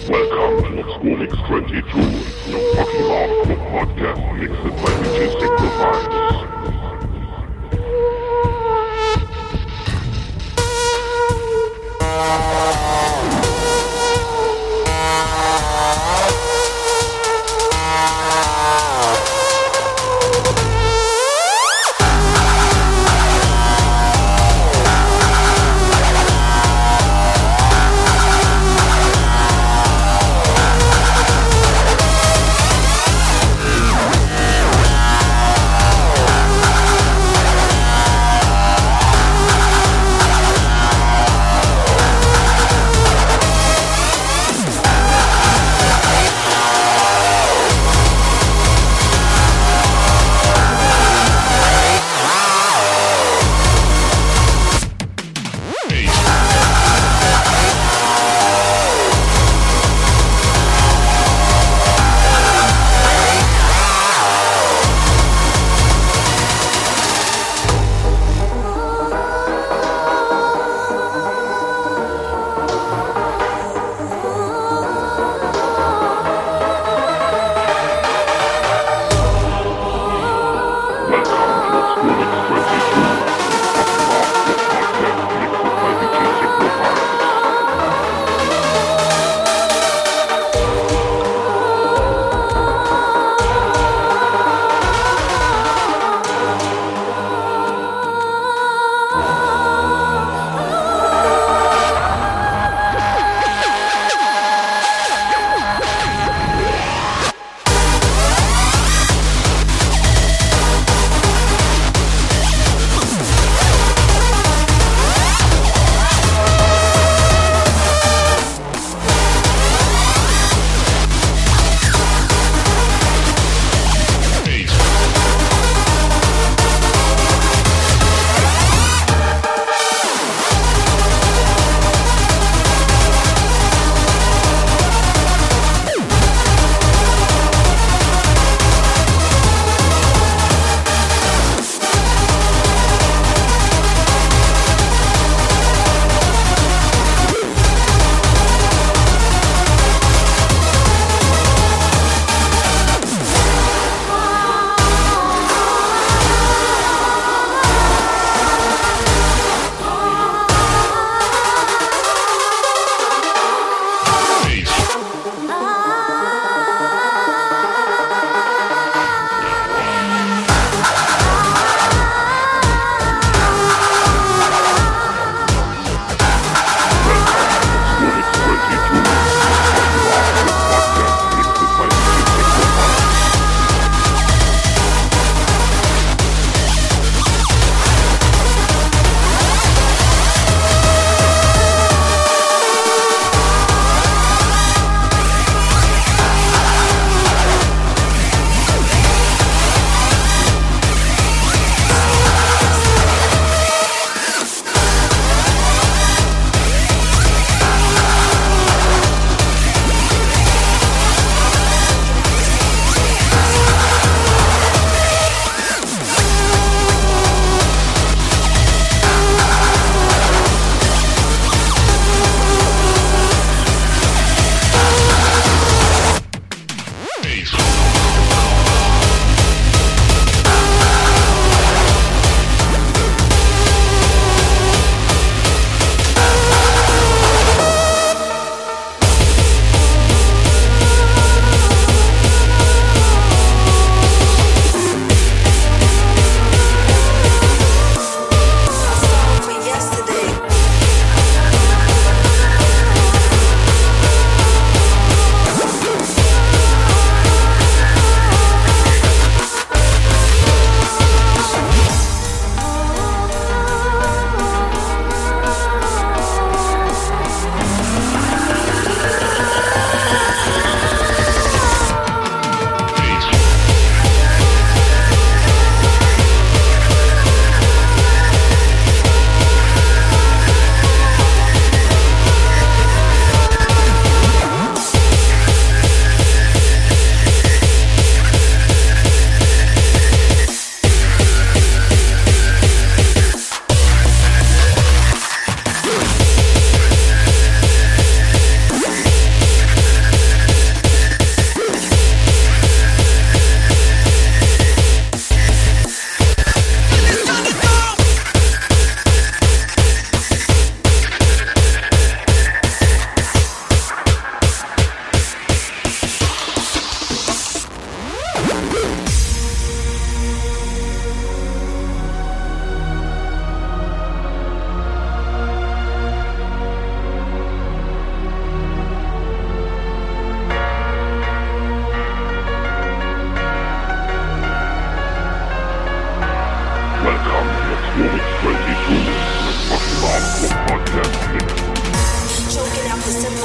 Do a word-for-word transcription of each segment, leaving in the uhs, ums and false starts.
Welcome to Schoolix twenty-two, your fucking hardcore podcast mixed by D J Sacrifice.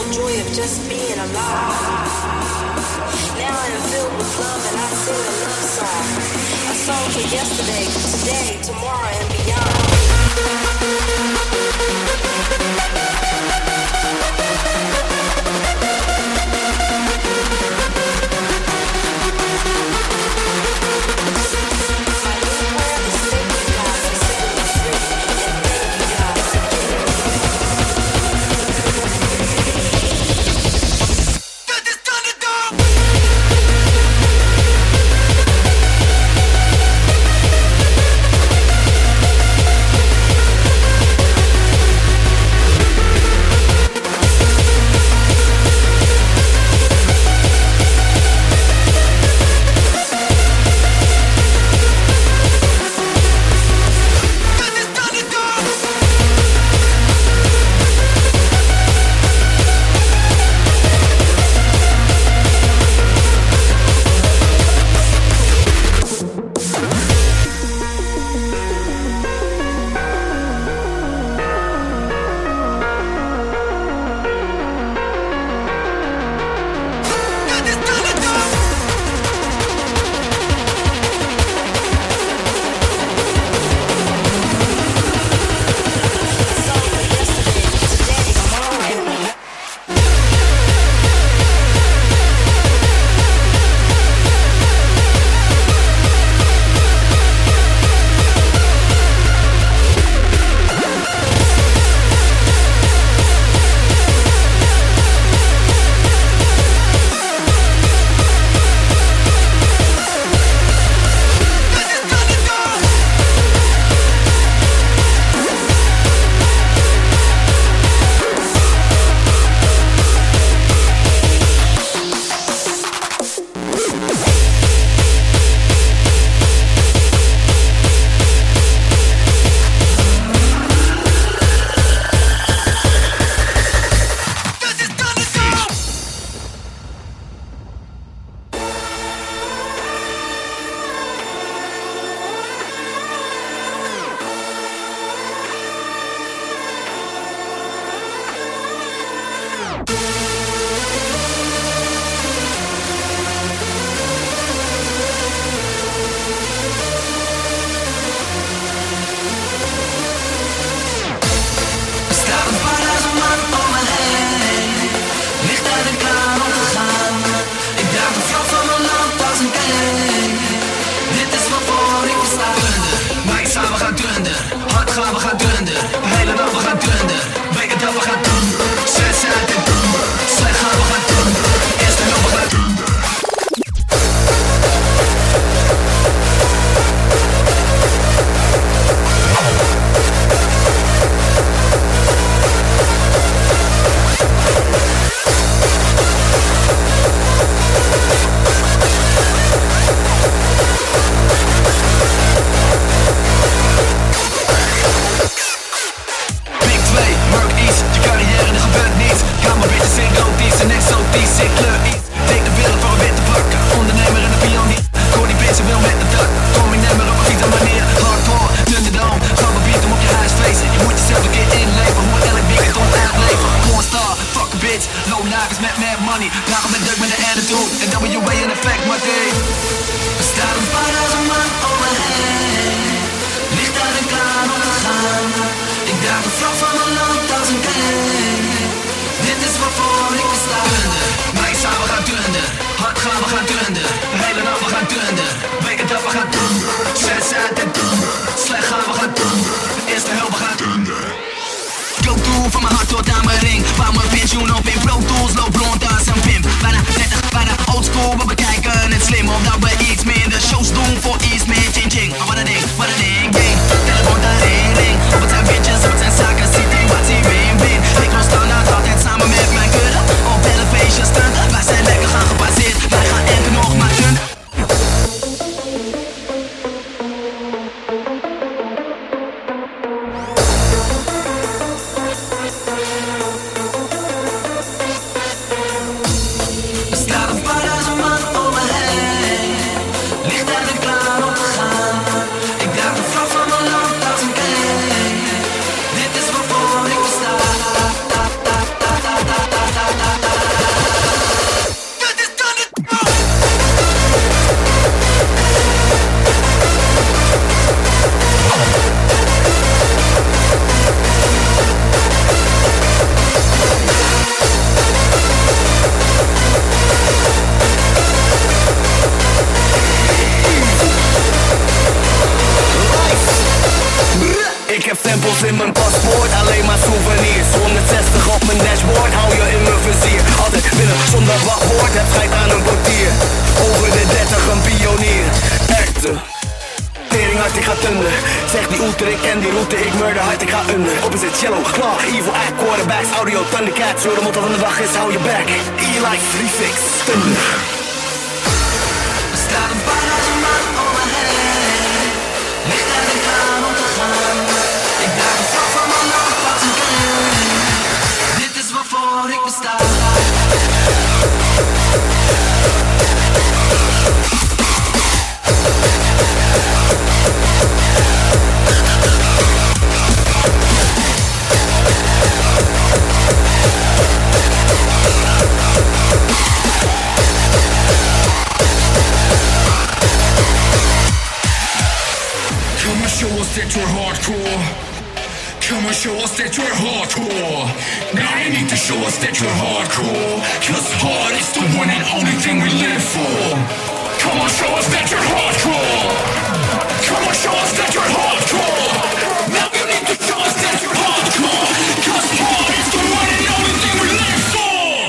joy of just being alive. Now I am filled with love and I sing a love song. A song for yesterday, today, tomorrow and beyond. Staat een paar duizend man om me heen, licht en klaar om te gaan. souvenirs. honderdzestig op mijn dashboard, hou je in mijn vizier. Altijd binnen zonder wachtwoord, het schijt aan een portier. Over de dertig een pionier, echte tering hard, ik ga thunder. Zeg die oeter, ik ken die route, ik murder hard, ik ga under. Opposite cello, claw, evil act, quarterbacks, audio, thundercats. Zo de motto van de dag is, hou je back. E-like, three fix, thunder. Er staat een paardje om me heen. Licht en ik klaar om te gaan. Ik draag een vlag van mijn land, wat een kind. Dit is waarvoor ik besta. Come and show us that you're hardcore. Come and show us that you're hardcore. Now you need to show us that you're hardcore. Cause hard is the one and only thing we live for. Come on, show us that you're hardcore. Come on, show us that you're hardcore. Now you need to show us that you're hardcore. Cause hard is the one and only thing we live for.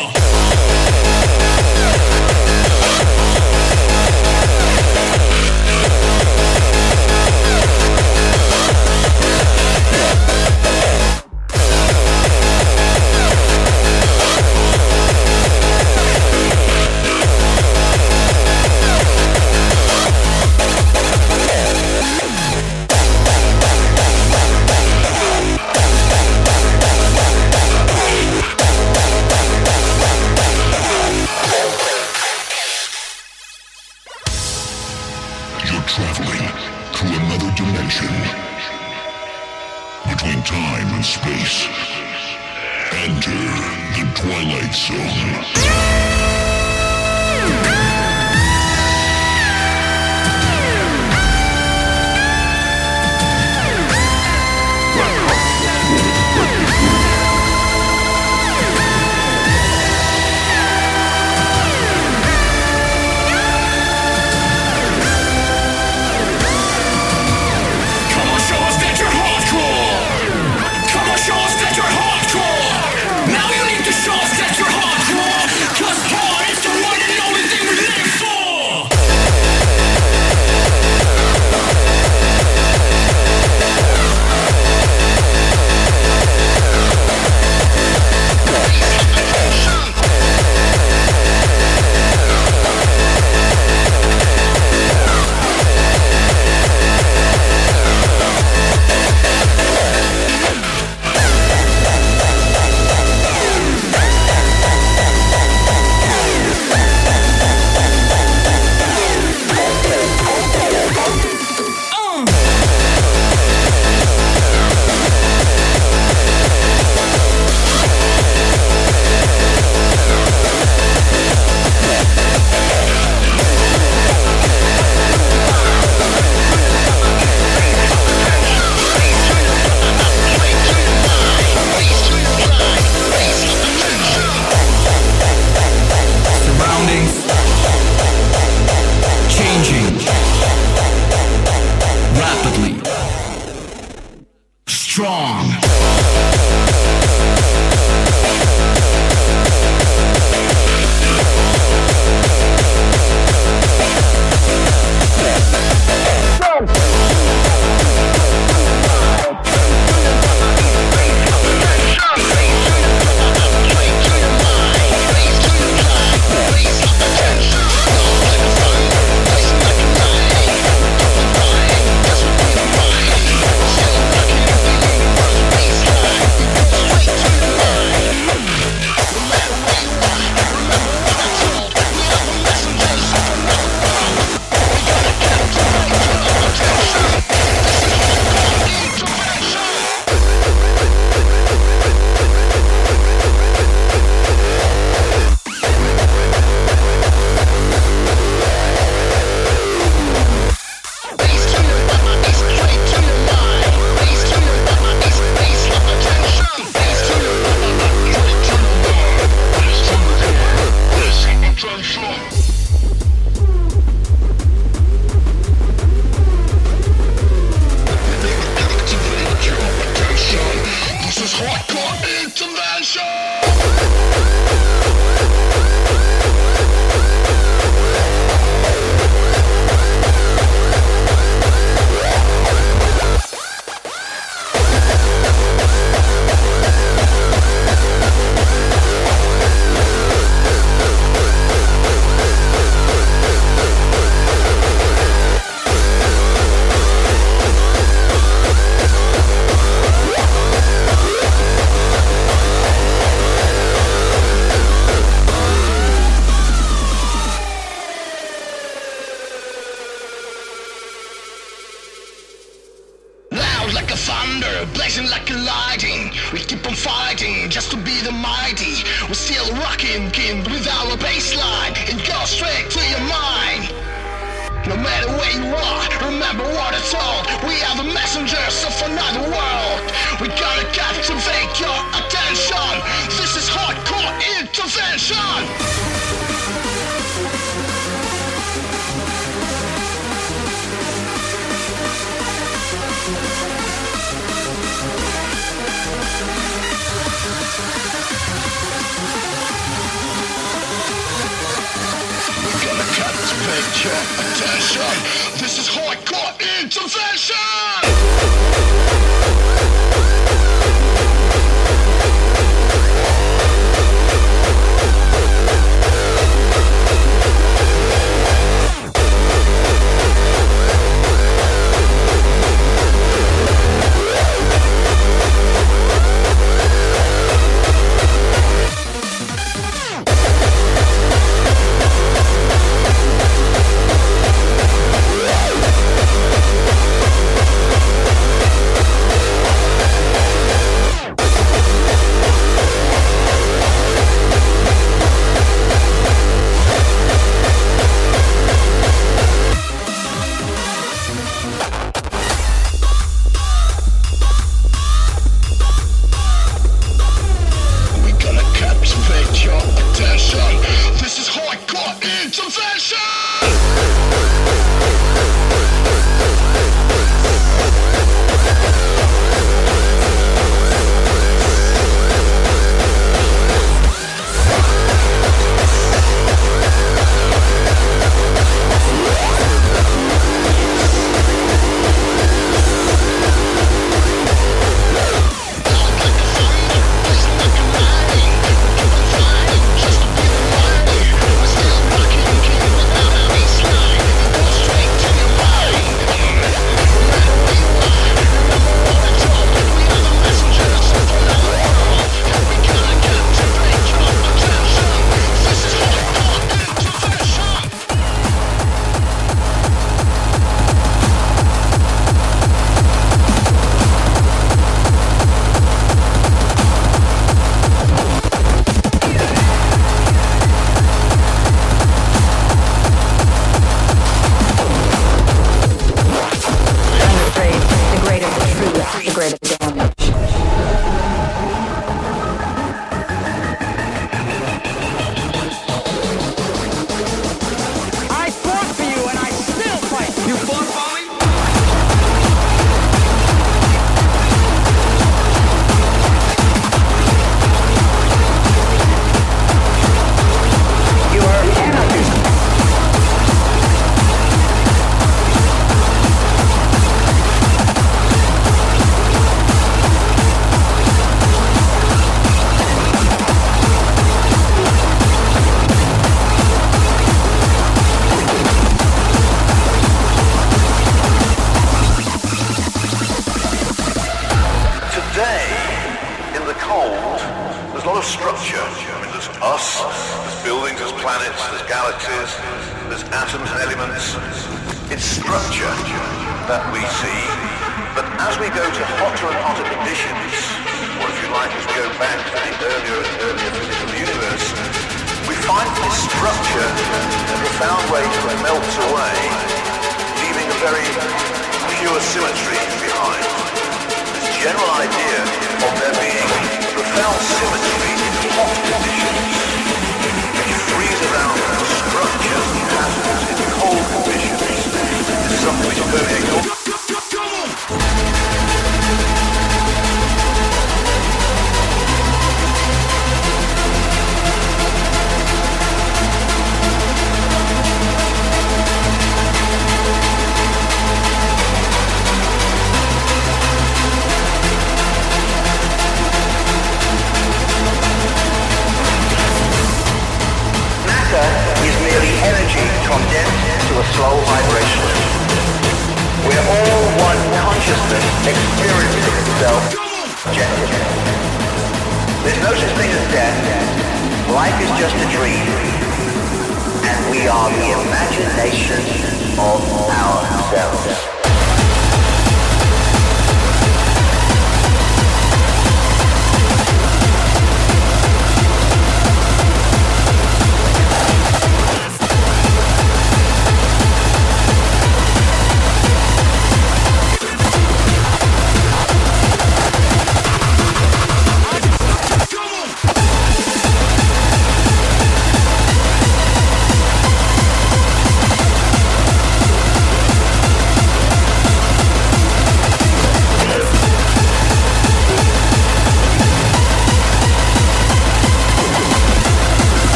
Traveling to another dimension between time and space. Enter the Twilight Zone. Show us that you're hardcore. Now you need to show us that you're hardcore. Cause We're still rocking with our bassline. It goes straight to your mind. No matter where you are, remember what it's all. We are the messengers of another world. We gotta captivate your attention. This is hardcore intervention. Captivate your attention. This is hardcore intervention.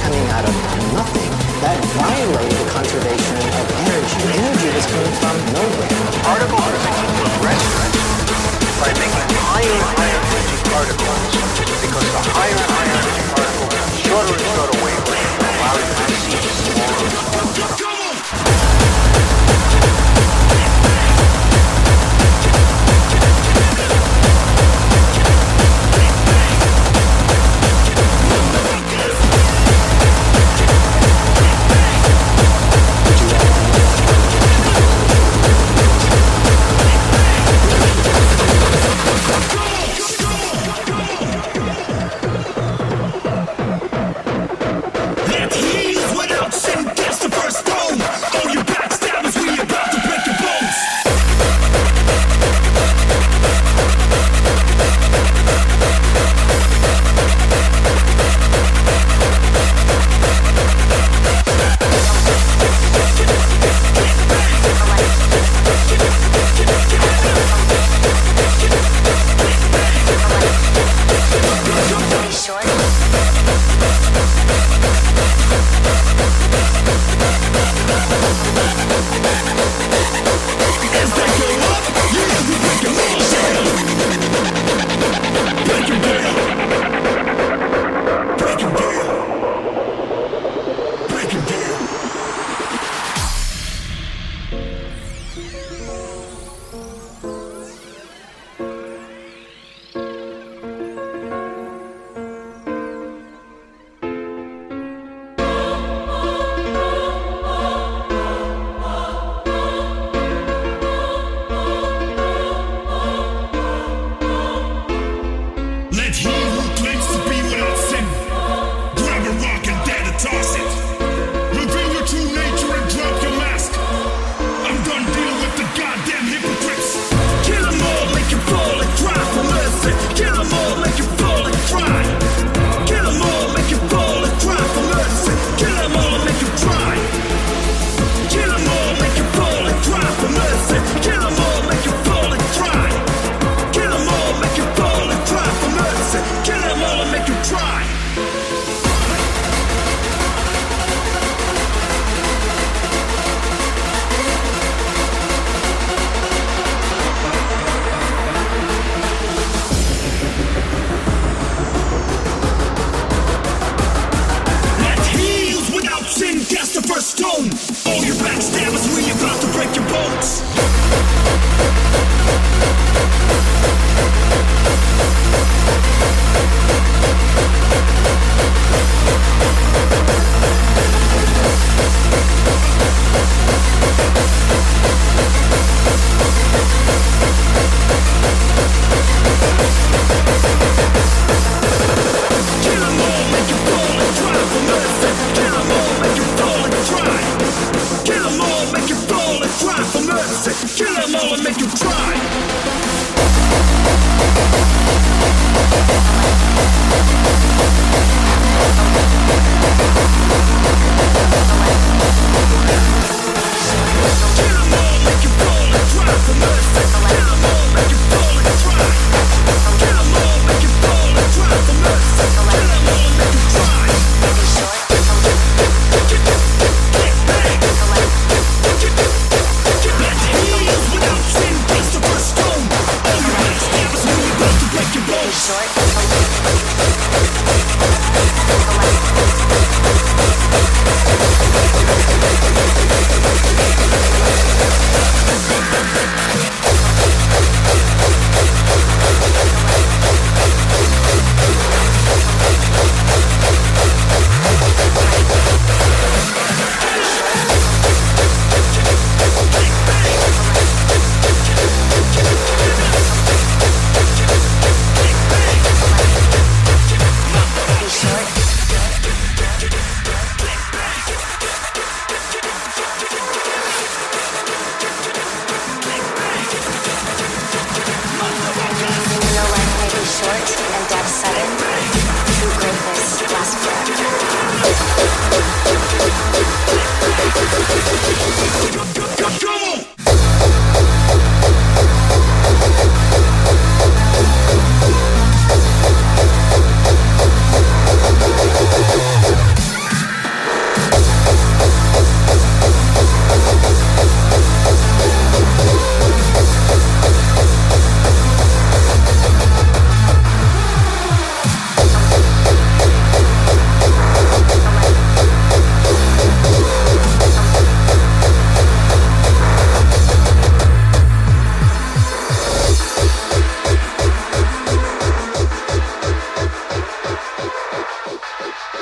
coming out of nothing, that violated the conservation of energy. Energy was coming from nowhere. Particle physics progresses by making higher and higher energy particles, because the higher and higher energy particles have shorter and shorter wavelengths that allow you to see smaller and smaller. Would you like to know?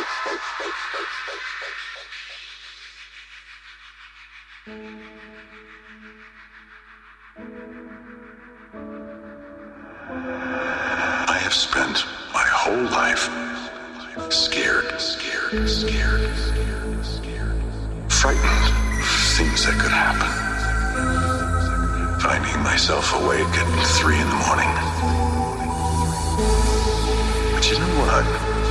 I have spent my whole life scared, scared, scared, scared, scared, frightened of things that could happen. Finding myself awake at three in the morning. But you know what?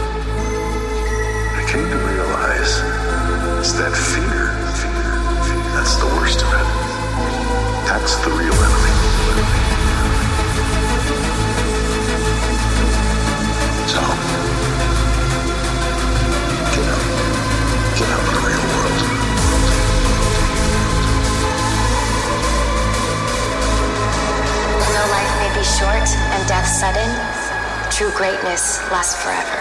I came to realize it's that fear, fear, fear, that's the worst of it. That's the real enemy. So, get out. Get out in the real world. Though life may be short and death sudden, true greatness lasts forever.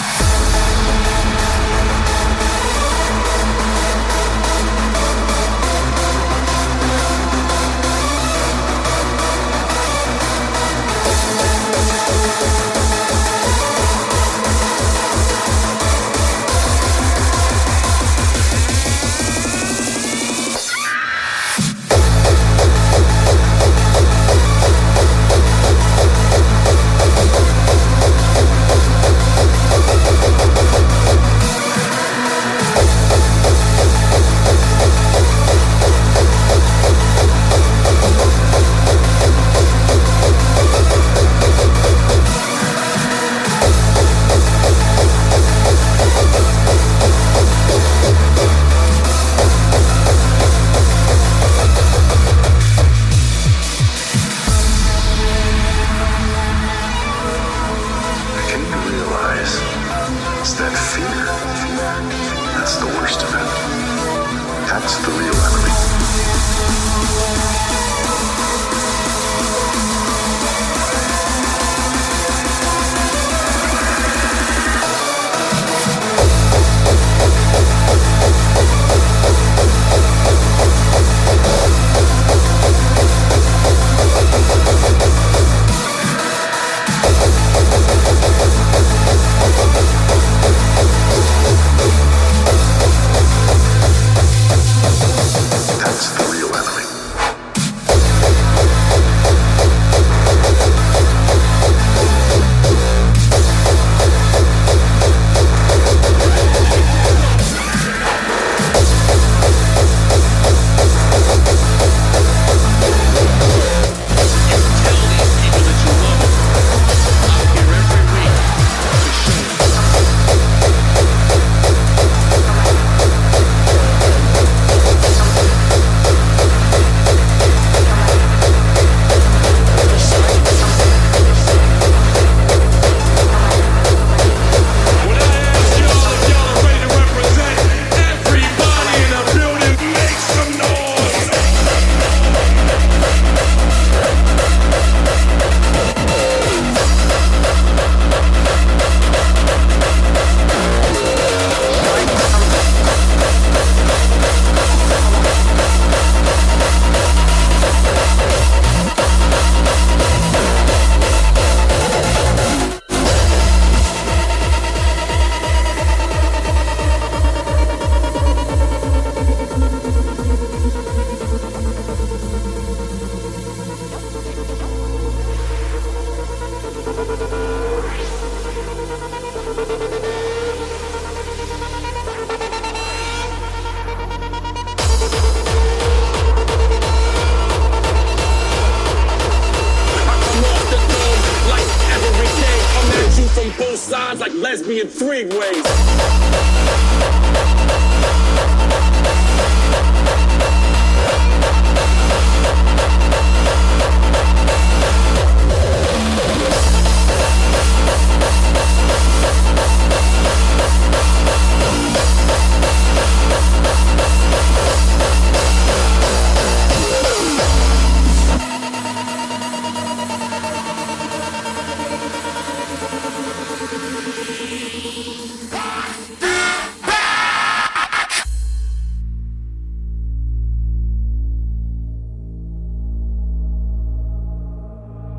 lesbian three ways.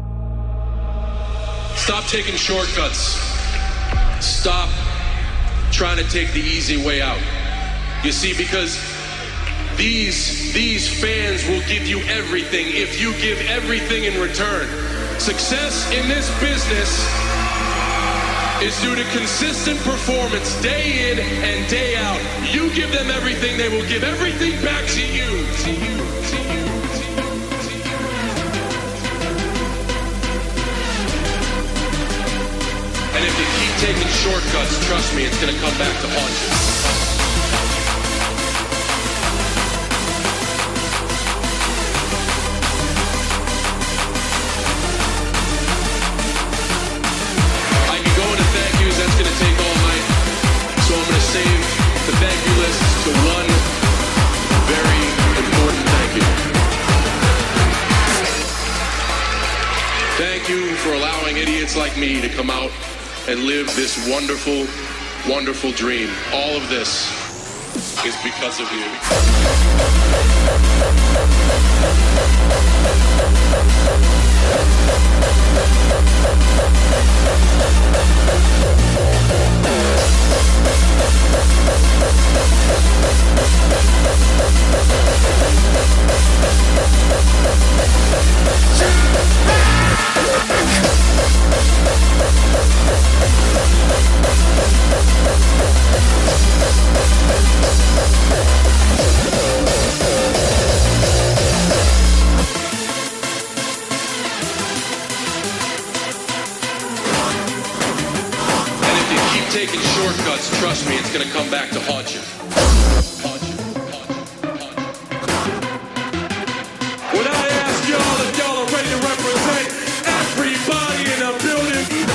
Stop taking shortcuts. Stop trying to take the easy way out. You see, because these, these fans will give you everything if you give everything in return. Success in this business is due to consistent performance day in and day out. You give them everything, they will give everything back to you. To you, to you, to you, to you. And if you keep taking shortcuts, trust me, it's gonna come back to haunt you. The thank you list to one very important thank you. Thank you for allowing idiots like me to come out and live this wonderful, wonderful dream. All of this is because of you. Taking shortcuts, trust me, it's gonna come back to haunt you. Haunt you, haunt you, haunt you. When I ask y'all if y'all are ready to represent everybody in the building,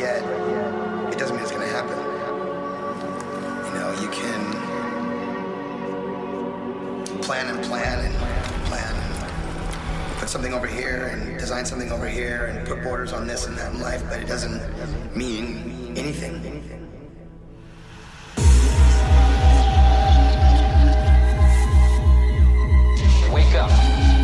yet, it doesn't mean it's going to happen. You know, you can plan and plan and plan and put something over here and design something over here and put borders on this and that in life, but it doesn't mean anything. Wake up.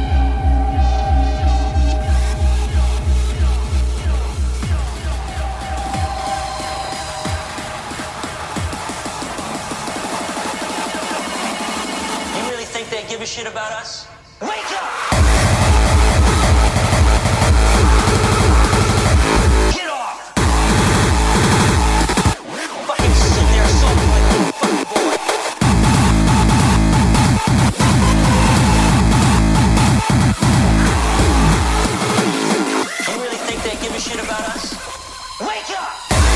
You really think they give a shit about us? Wake up! Get off! Fucking sit there sulking like a little fucking boy. You really think they give a shit about us? Wake up!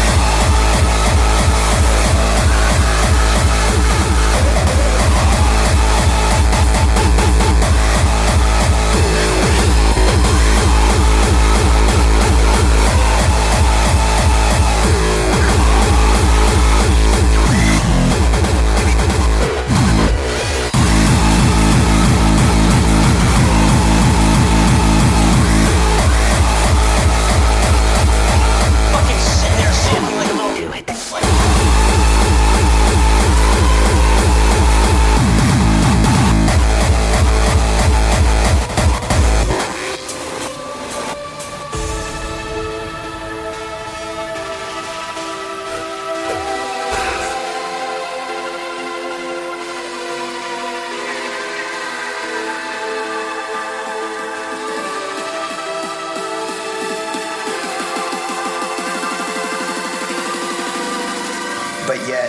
But yet,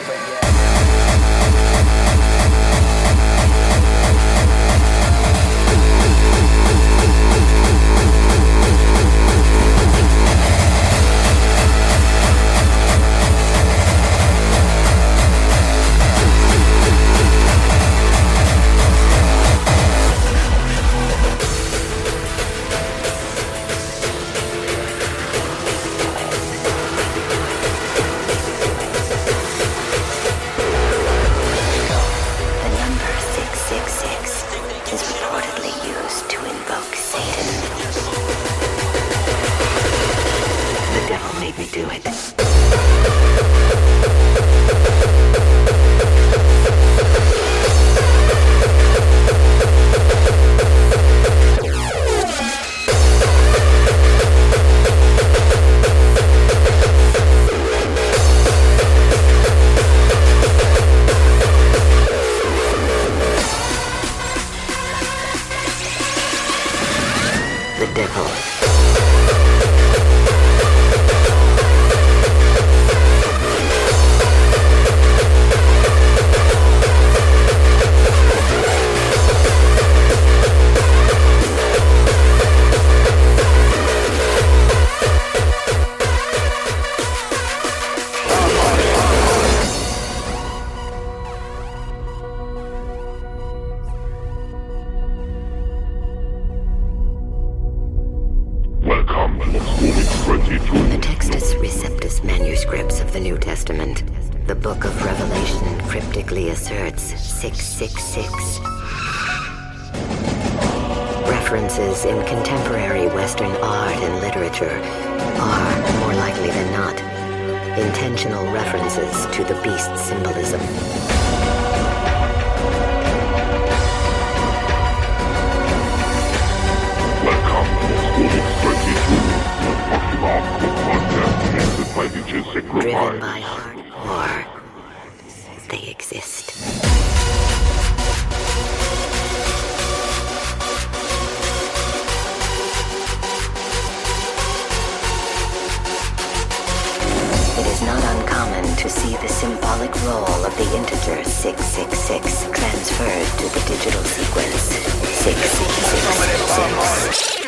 The Textus Receptus manuscripts of the New Testament, the Book of Revelation cryptically asserts six six six. References in contemporary Western art and literature are, more likely than not, intentional references to the beast symbolism. Driven by hardcore, they exist. It is not uncommon to see the symbolic role of the integer six six six transferred to the digital sequence six six six six.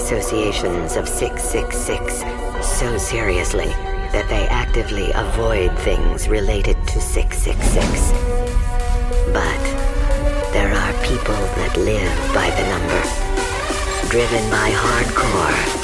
associations of six six six so seriously that they actively avoid things related to six six six. But there are people that live by the number, driven by hardcore.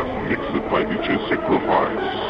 podcast mixed by D J Sacrifice.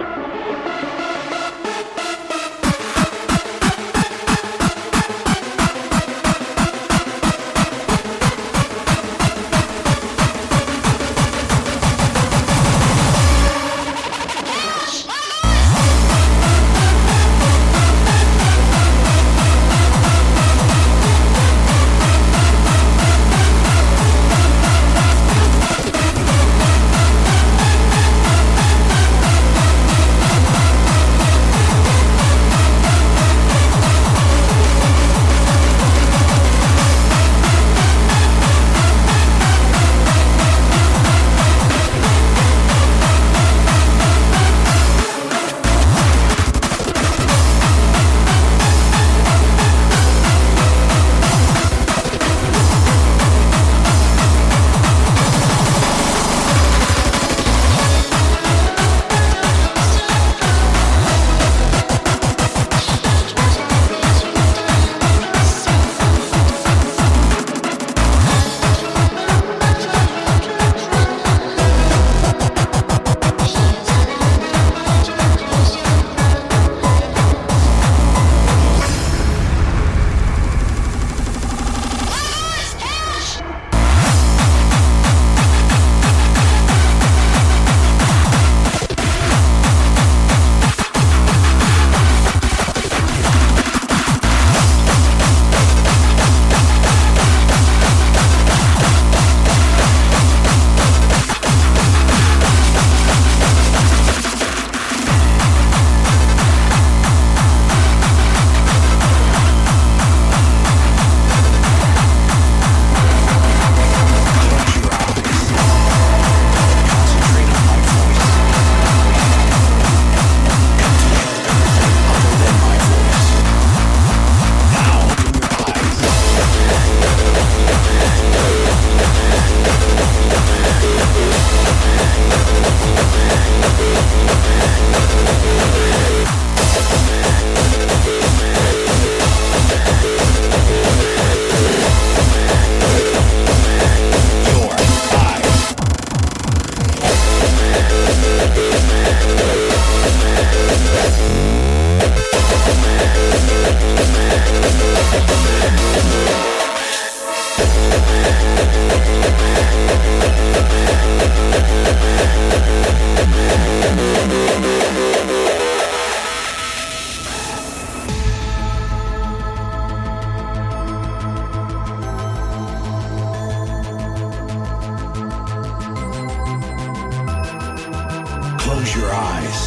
Close your eyes.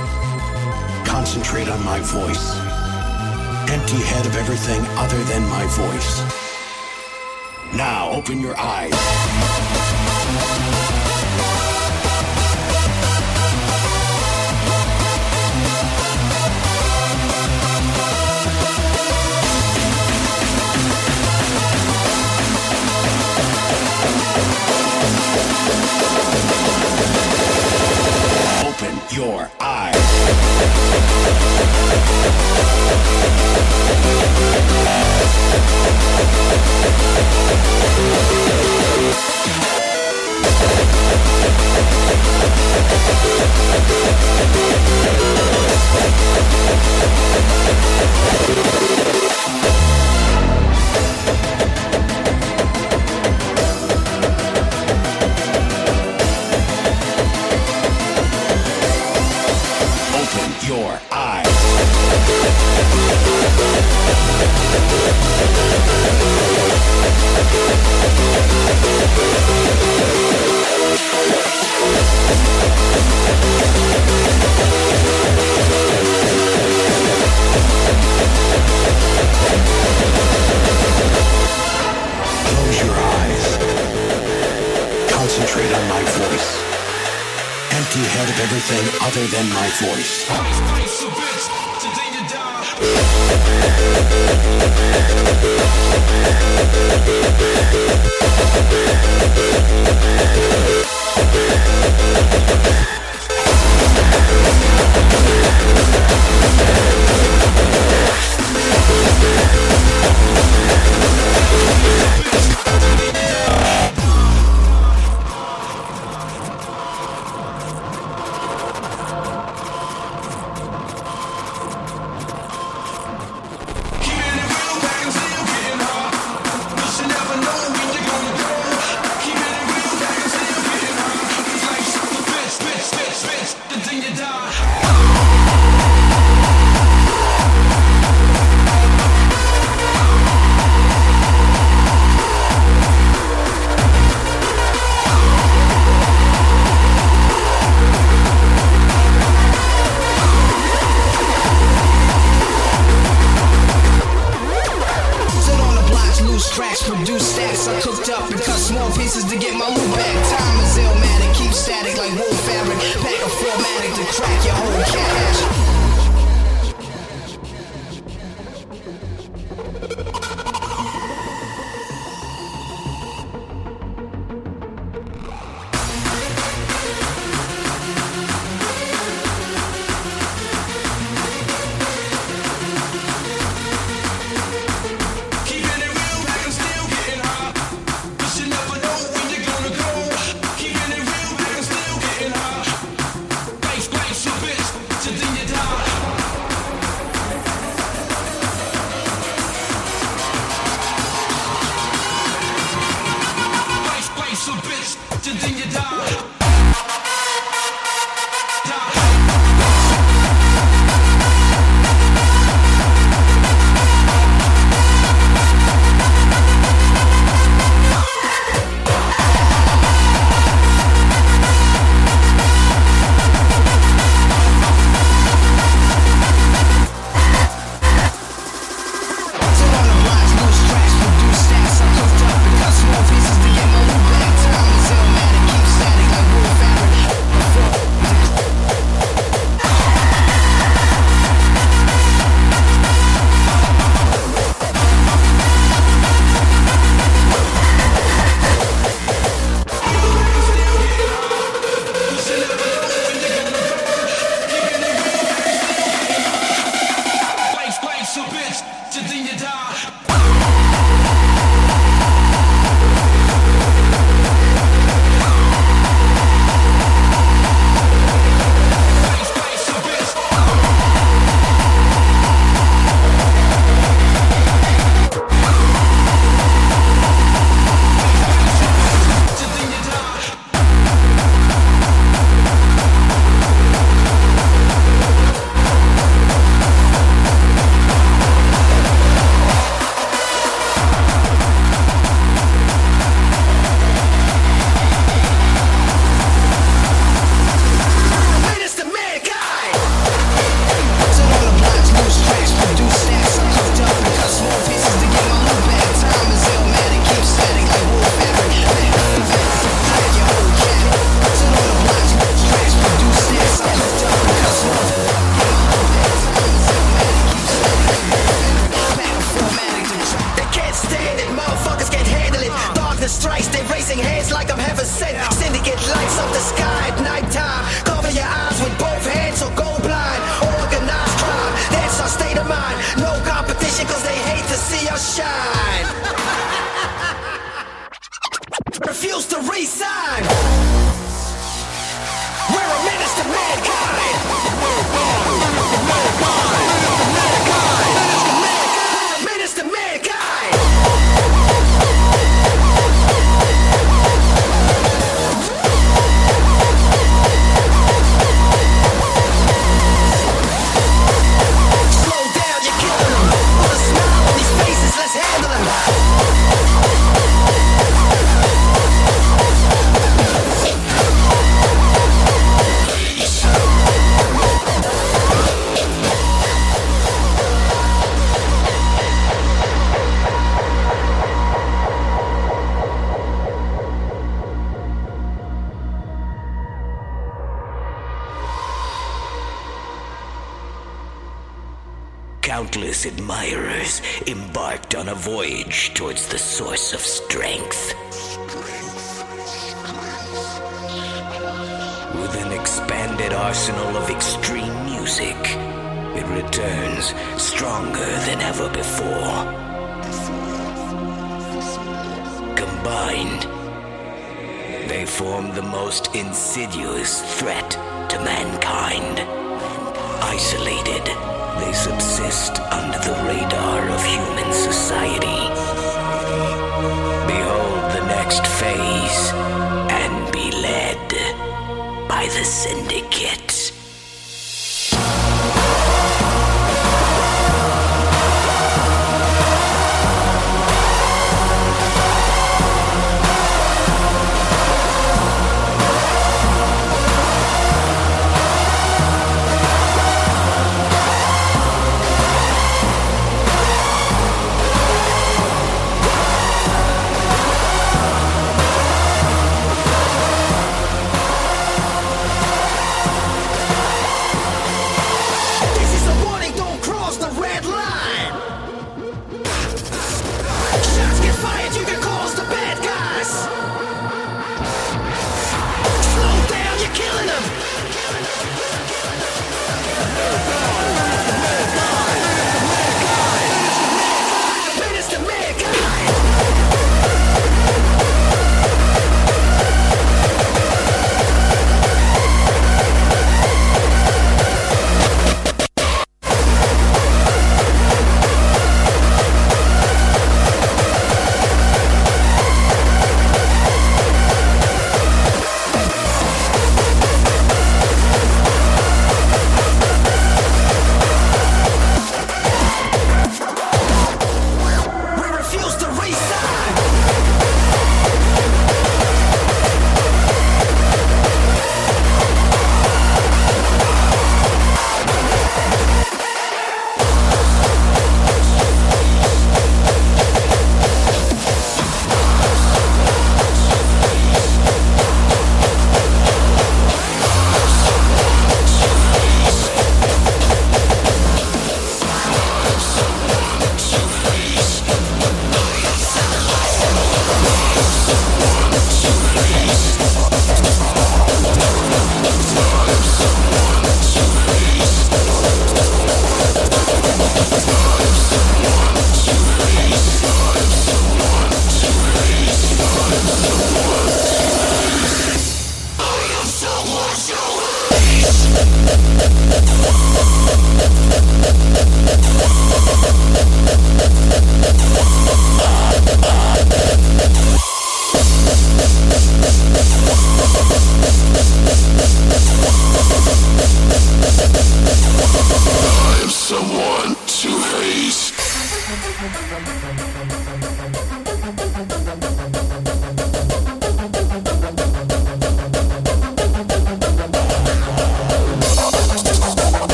Concentrate on my voice. Empty head of everything other than my voice. Now open your eyes. Open your eyes. Open your eyes. Close your eyes. Concentrate on my voice. Empty head of everything other than my voice. Pack a formatic to crack your whole cache. Countless admirers embarked on a voyage towards the source of strength. With an expanded arsenal of extreme music, it returns stronger than ever before. Combined, they form the most insidious threat to mankind. Isolated, they subsist under the radar of human society. Behold the next phase and be led by the Syndicate.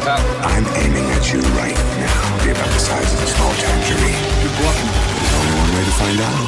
about? I'm aiming at you right now. Be about the size of a small tangerine. You're bluffing. There's only one way to find out.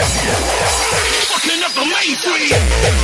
Fucking up the mainstream.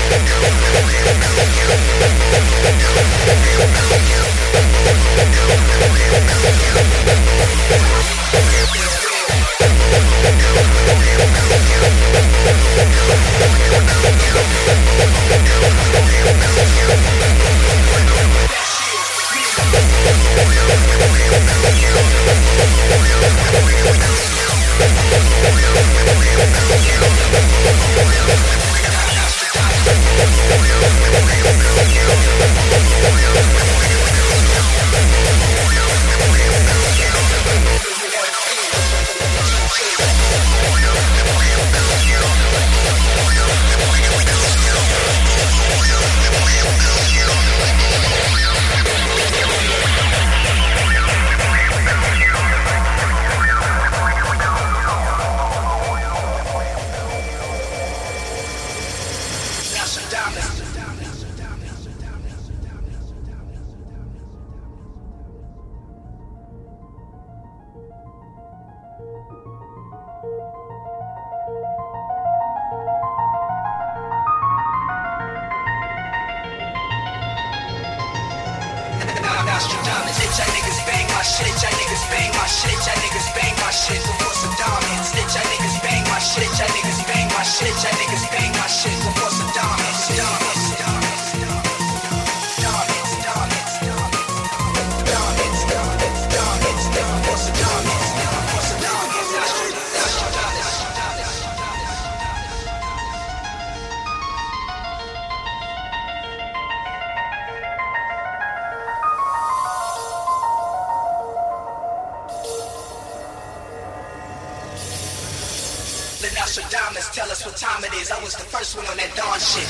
Nostradamus, tell us what time it is. I was the first one on that dawn shit.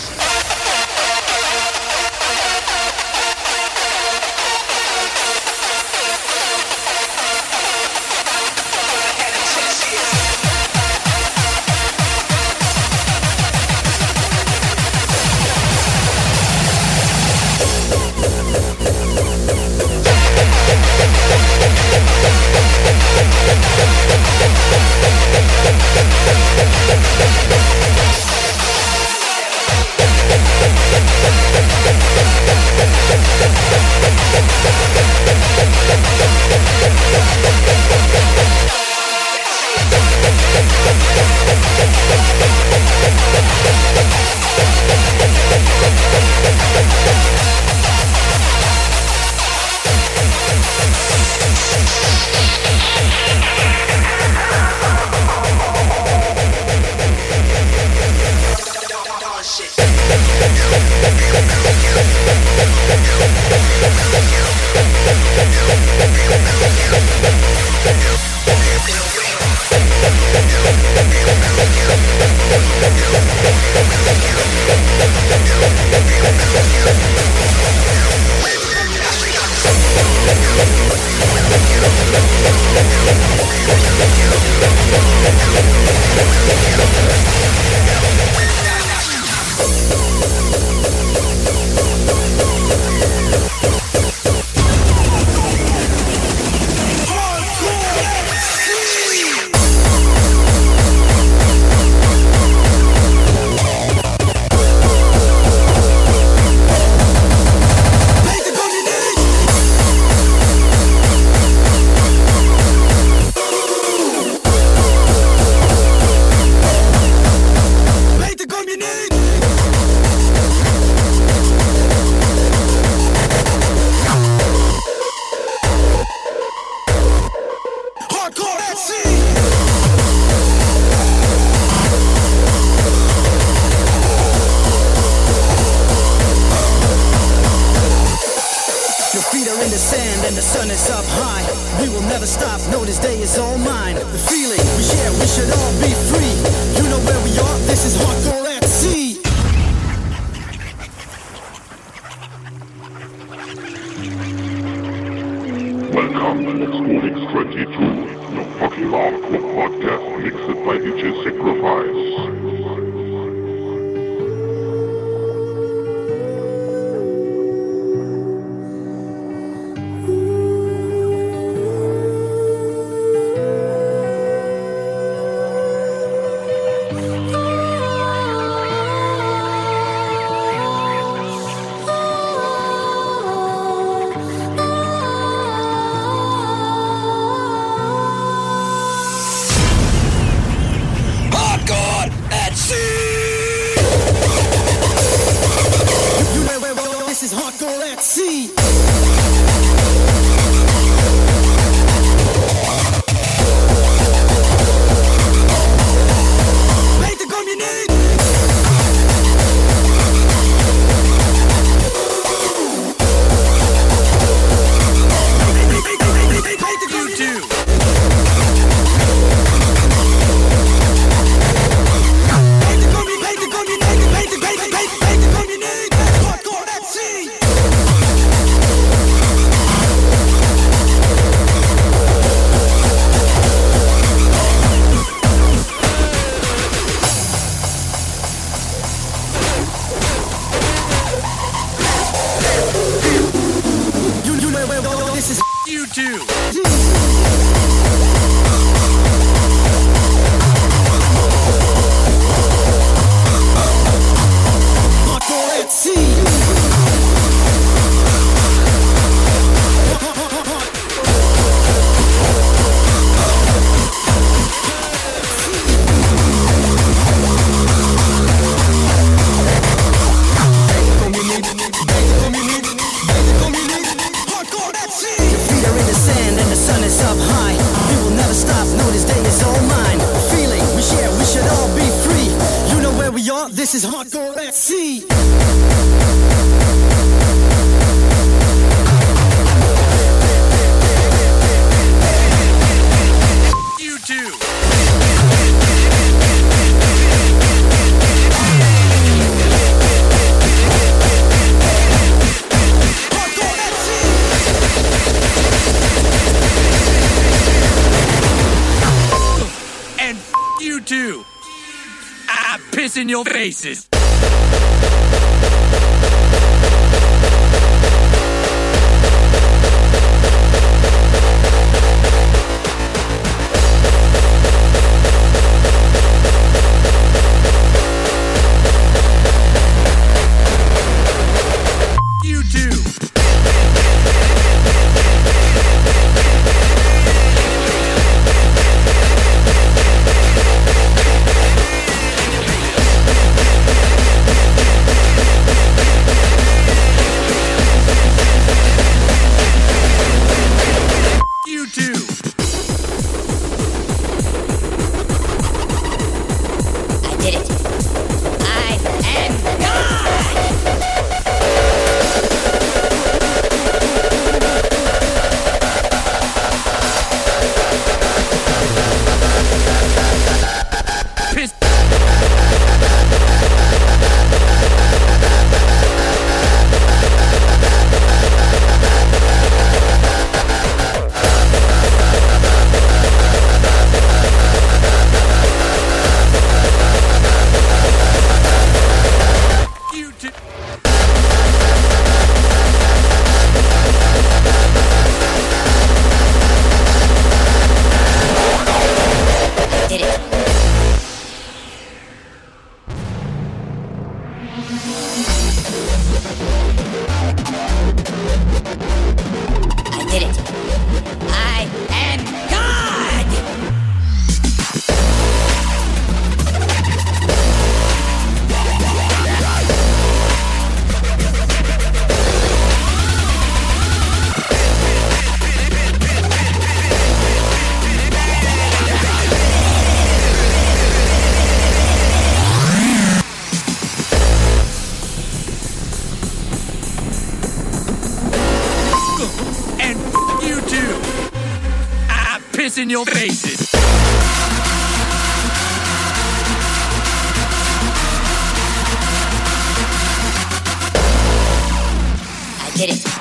Huh? This is Hardcore at Sea. You too. And f- you too. I piss in your faces. You too. You too. I did it. I am Piss. You too. I did it. I did it. I am God! And f- you too. I piss in your faces. I did it.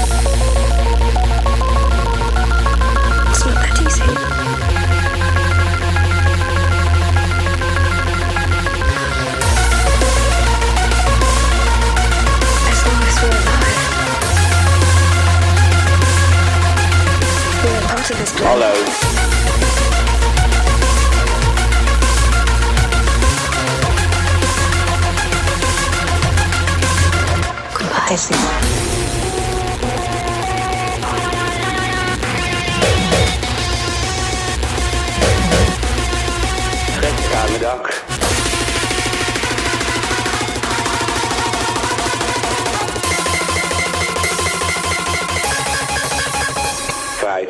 It's not that easy. As long as we're alive, we're a part of this planet. Hallo. I see. Trek aan mijn dak. Kwijt.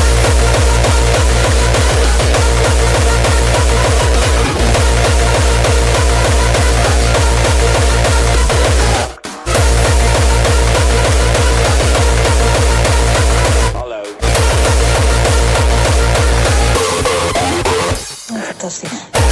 Fantastisch.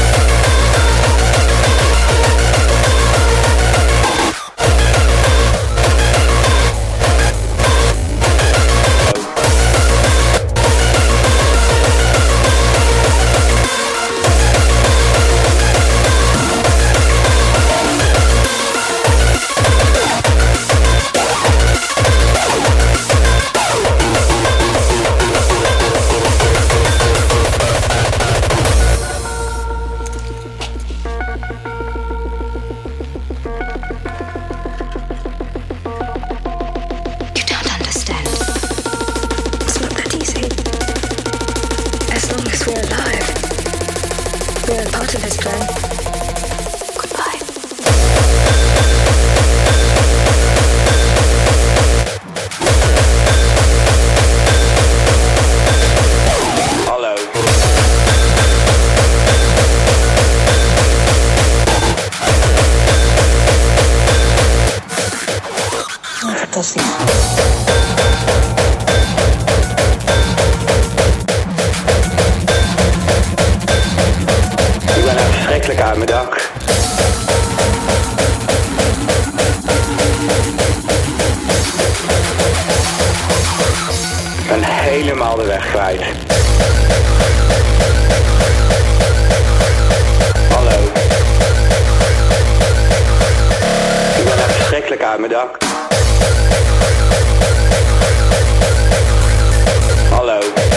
Aan mijn dak. Ik ben helemaal de weg kwijt. Hallo. Ik ben echt verschrikkelijk aan mijn dak. Hallo.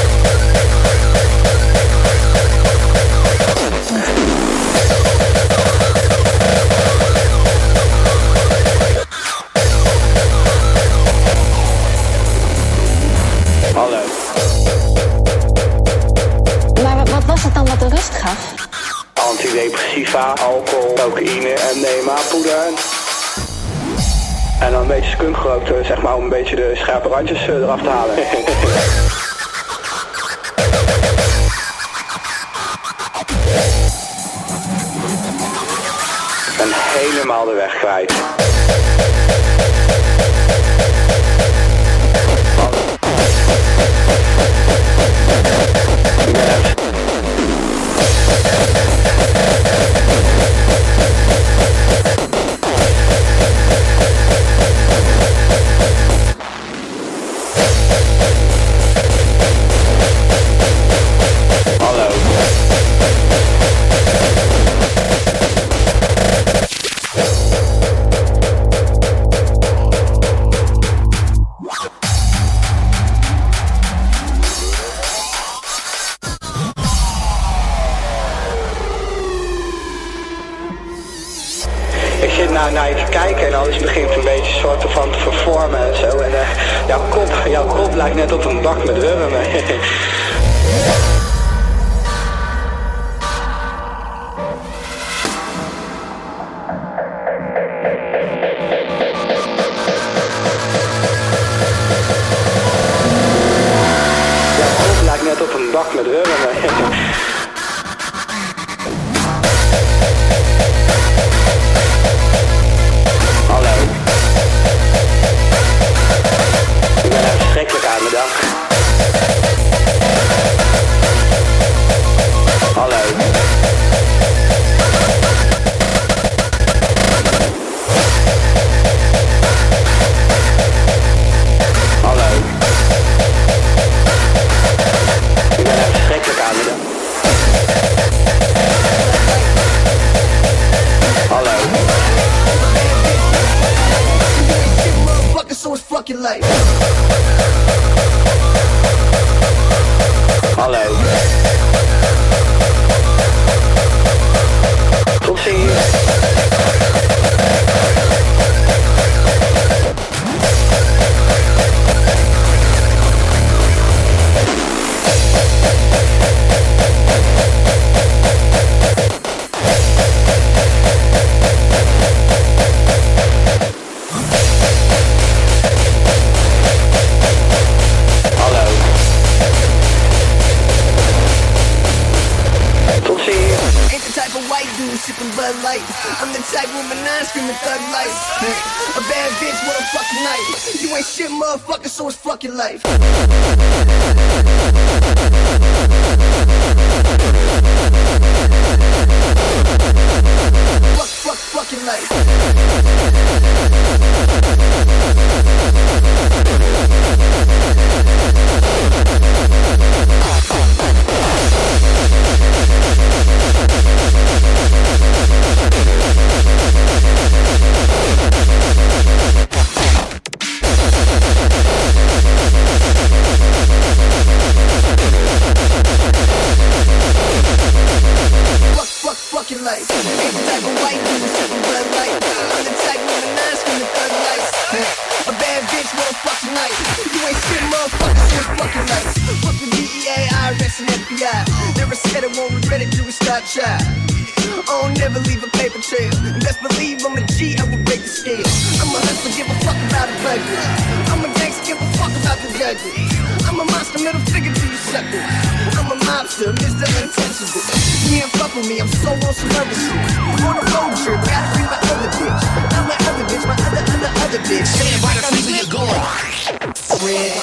Hallo. Maar wat, wat was het dan wat de rust gaf? Antidepressiva, alcohol, cocaïne, M D M A-poeder. En dan een beetje skunk gerookt, zeg maar, om een beetje de scherpe randjes eraf te halen. Ik ben helemaal de weg kwijt. Naar je te kijken en alles begint een beetje soort van te vervormen en zo. En uh, jouw kop, jouw kop lijkt net op een bak met wurmen. Jouw kop lijkt net op een bak met wurmen. Verschrikkelijk aan mijn dak. Hallo. Hallo. Tot ziens. Sipping Bud Light. I'm the type with my nine screaming thug life. A bad bitch with a fucking knife. You ain't shit, motherfucker, so it's fucking life. Fuck, fuck, fucking life. Life. Ain't the type of white dude sipping Bud Light. I'm the type with a nine screaming thug life. A bad bitch with a fucking knife. You ain't shit, motherfucker, so it's fucking life. Fuck the D E A, I R S and F B I. Never said it, won't regret it, do a start child. I'll never leave a paper trail. And best believe I'm a G, I will break the scale. I'm a hustler, give a fuck about a budget. I'm a gangster, give a fuck about the judges. I'm a monster, middle figure to you suckers. I'm a mobster, Mister Untouchable. You can't fuck with me, I'm so on some other shit. On a road trip, gotta bring my other bitch. Not my other bitch, my other, other, other bitch. Stand by the freezer, you're going. Red.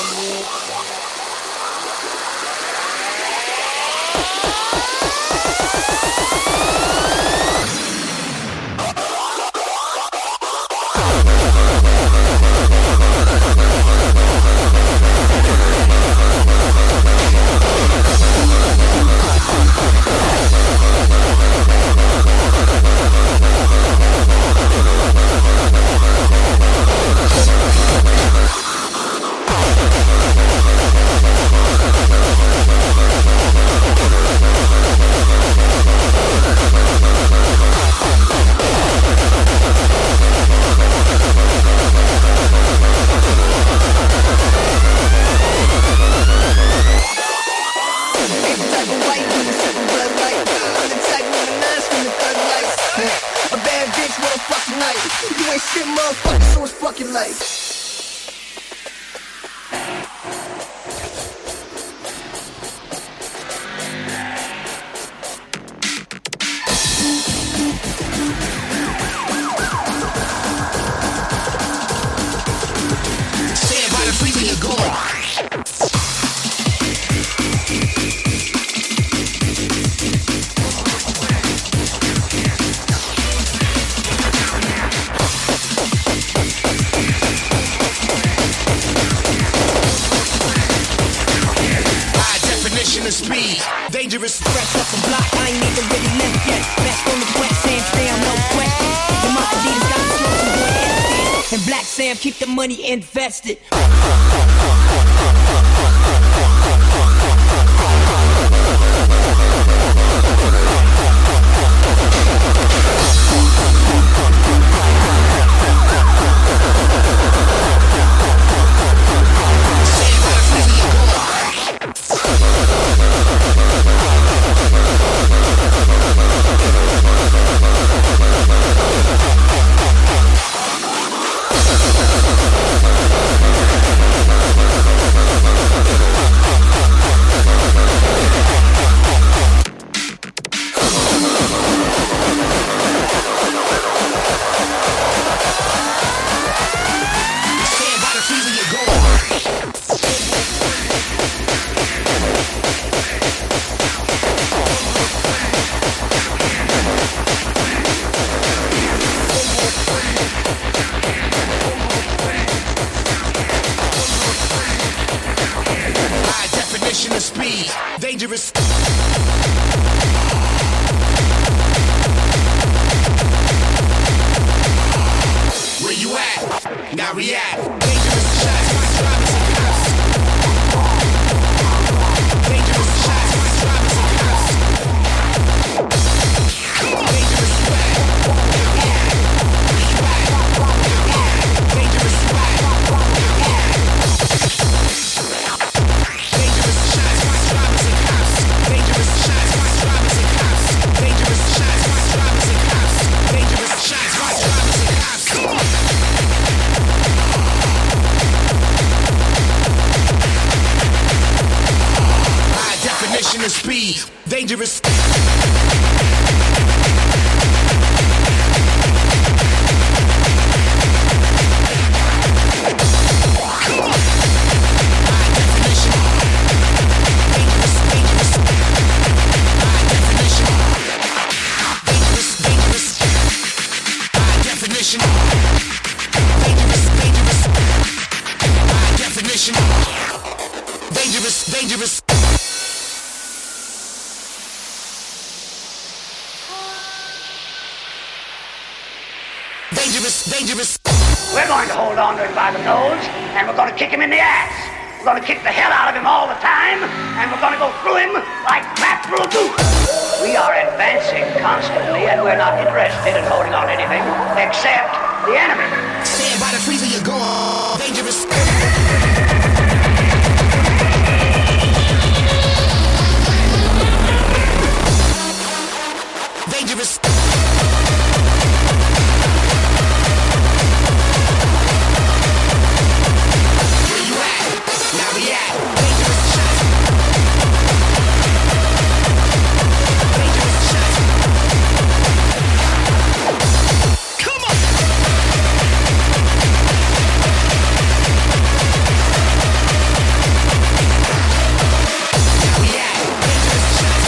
You ain't shit, motherfucker, so it's fucking life. Stand by the freezer, you're going. Of speed, dangerous, fresh off the block. I ain't even really left yet. Best on the wet sand, Sam, no question. The my Adidas got the slow boy empty. And Black Sam keep the money invested. Speed, dangerous. Where you at? Now react. Dangerous shots, my drivers. definition of speed. Dangerous. Dangerous, dangerous. Dangerous, dangerous. We're going to hold on to him by the nose, and we're going to kick him in the ass. We're going to kick the hell out of him all the time, and we're going to go through him like crap through a goose. We are advancing constantly, and we're not interested in holding on to anything except the enemy. Stand by the freezer, you're gone. Dangerous. Dangerous. Where you at? Now we at. Dangerous shots. Dangerous shots. Come on. Now we at. Dangerous shots.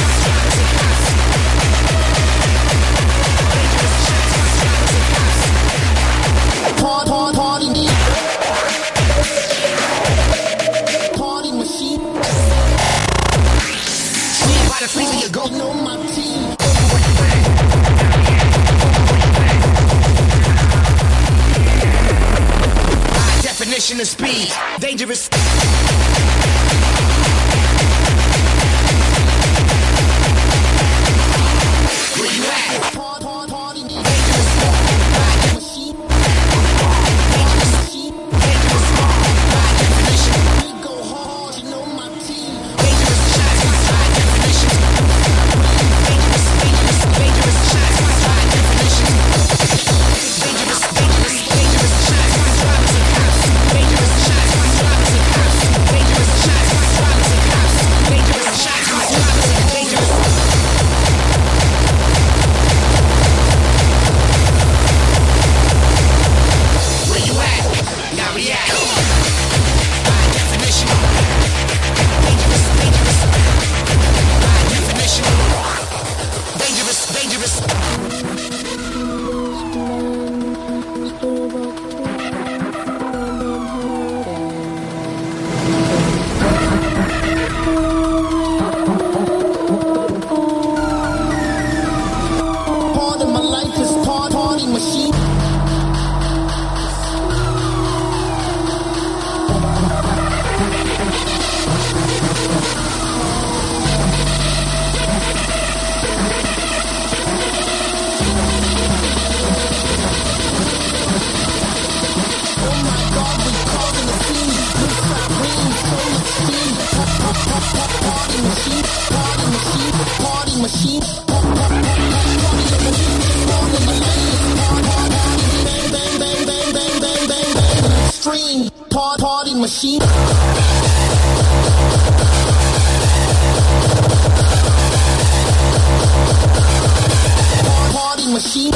Party, party, party machine. Stand by the freezer, you go. Know my team. High definition of speed. Dangerous. Where you at? Party, party, Stream, party, party machine. Party machine.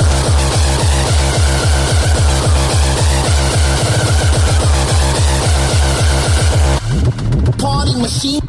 Party machine.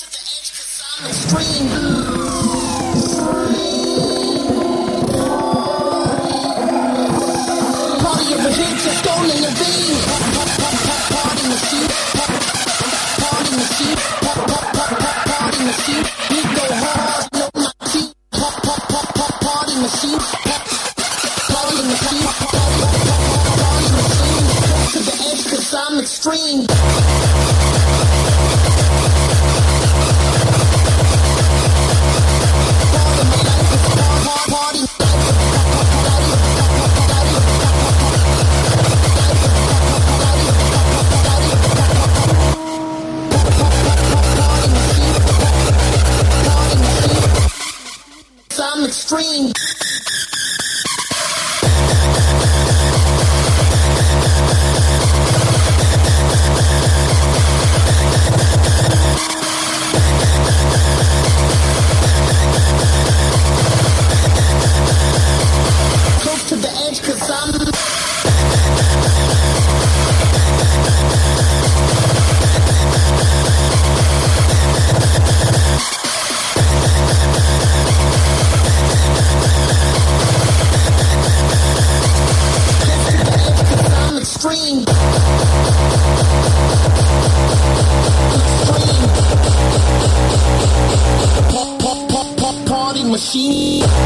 Extreme. extreme. I'm extreme. Close to the edge 'cause I'm extreme. Extreme. Party machine.